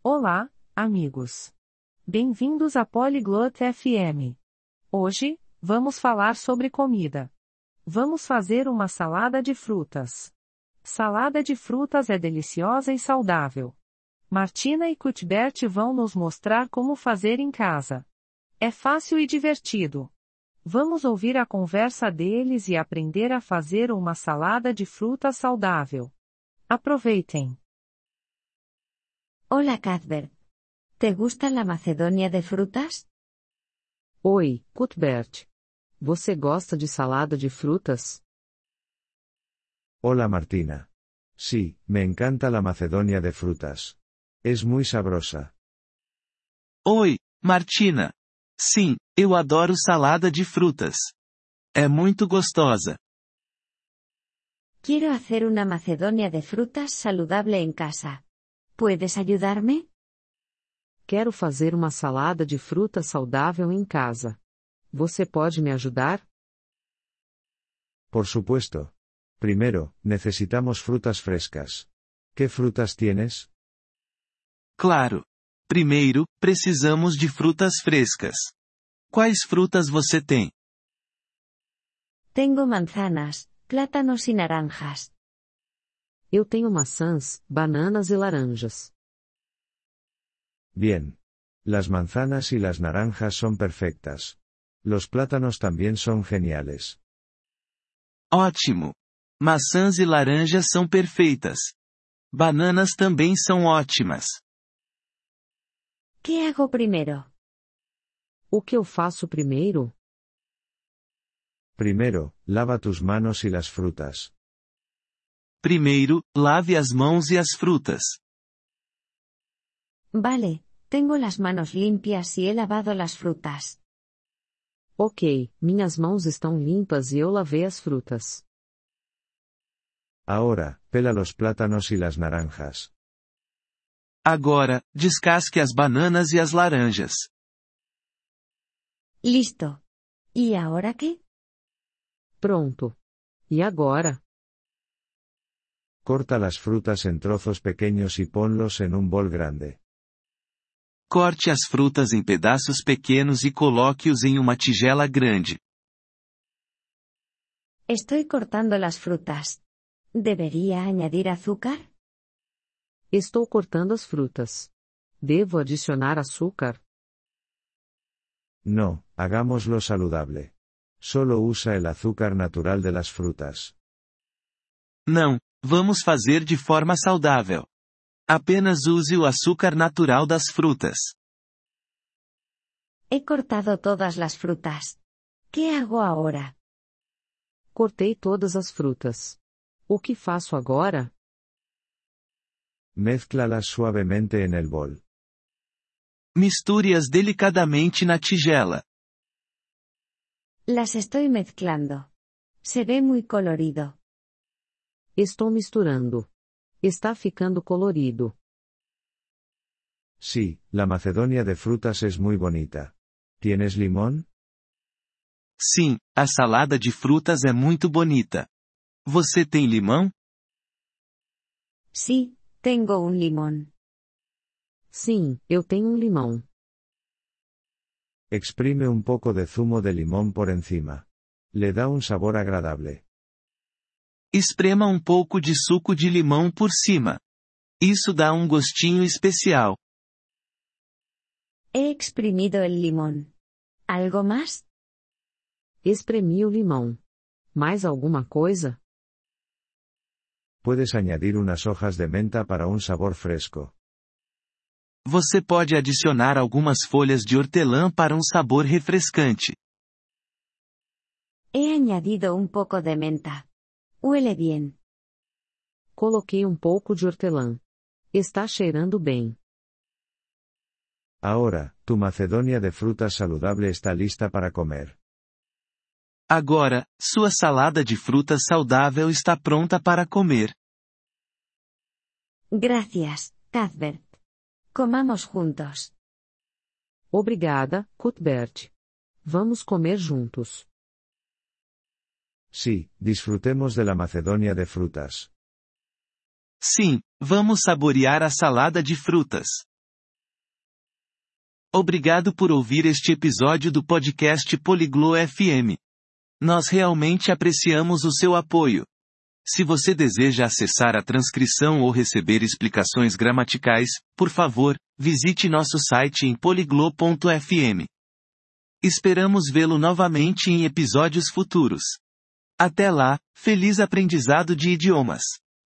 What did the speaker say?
Olá, amigos. Bem-vindos à Polyglot FM. Hoje, vamos falar sobre comida. Vamos fazer uma salada de frutas. Salada de frutas é deliciosa e saudável. Martina e Cuthbert vão nos mostrar como fazer em casa. É fácil e divertido. Vamos ouvir a conversa deles e aprender a fazer uma salada de frutas saudável. Aproveitem. Hola Cuthbert. ¿Te gusta la Macedonia de frutas? Oi, Cuthbert. Você gosta de salada de frutas? Hola Martina. Sí, me encanta la Macedonia de frutas. Es muy sabrosa. Oi, Martina. Sim, eu adoro salada de frutas. É muito gostosa. Quiero hacer una Macedonia de frutas saludable en casa. ¿Puedes ayudarme? Quero fazer uma salada de frutas saudável em casa. Você pode me ajudar? Por supuesto. Primero, necesitamos frutas frescas. ¿Qué frutas tienes? Claro. Primeiro, precisamos de frutas frescas. Quais frutas você tem? Tengo manzanas, plátanos y naranjas. Eu tenho maçãs, bananas e laranjas. Bien. Las manzanas y las naranjas son perfectas. Los plátanos también son geniales. Ótimo. Maçãs e laranjas são perfeitas. Bananas também são ótimas. ¿Qué hago primero? O que eu faço primeiro? Primero, lava tus manos y las frutas. Primeiro, lave as mãos e as frutas. Vale, tengo las manos limpias y he lavado las frutas. Ok, minhas mãos estão limpas e eu lavei as frutas. Ahora, pela los plátanos y las naranjas. Agora, descasque as bananas e as laranjas. Listo. ¿Y ahora qué? Pronto. E agora? Corta las frutas en trozos pequeños y ponlos en un bol grande. Corte as frutas em pedaços pequenos e coloque-os em uma tigela grande. Estoy cortando las frutas. ¿Debería añadir azúcar? Estou cortando as frutas. Devo adicionar açúcar? No, hagámoslo saludable. Solo usa el azúcar natural de las frutas. Não, vamos fazer de forma saudável. Apenas use o açúcar natural das frutas. He cortado todas las frutas. ¿Qué hago ahora? Cortei todas as frutas. O que faço agora? Mézclalas suavemente en el bol. Misture-as delicadamente na tigela. Las estoy mezclando. Se ve muy colorido. Estou misturando. Está ficando colorido. Sí, la Macedonia de frutas es muy bonita. ¿Tienes limón? Sim, a salada de frutas é muito bonita. Você tem limão? Sí, tengo un limón. Sim, eu tenho limão. Exprime un poco de zumo de limón por encima. Le da un sabor agradable. Esprema um pouco de suco de limão por cima. Isso dá um gostinho especial. He exprimido el limón. ¿Algo más? Espremi o limão. Mais alguma coisa? Puedes añadir unas hojas de menta para un sabor fresco. Você pode adicionar algumas folhas de hortelã para um sabor refrescante. He añadido un poco de menta. Huele bien. Coloquei um pouco de hortelã. Está cheirando bem. Ahora, tu Macedonia de frutas saludable está lista para comer. Agora, sua salada de frutas saudável está pronta para comer. Gracias, Cuthbert. Comamos juntos. Obrigada, Cuthbert. Vamos comer juntos. Sí, disfrutemos de la Macedonia de frutas. Sim, vamos saborear a salada de frutas. Obrigado por ouvir este episódio do podcast Poliglo FM. Nós realmente apreciamos o seu apoio. Se você deseja acessar a transcrição ou receber explicações gramaticais, por favor, visite nosso site em poliglo.fm. Esperamos vê-lo novamente em episódios futuros. Até lá, feliz aprendizado de idiomas!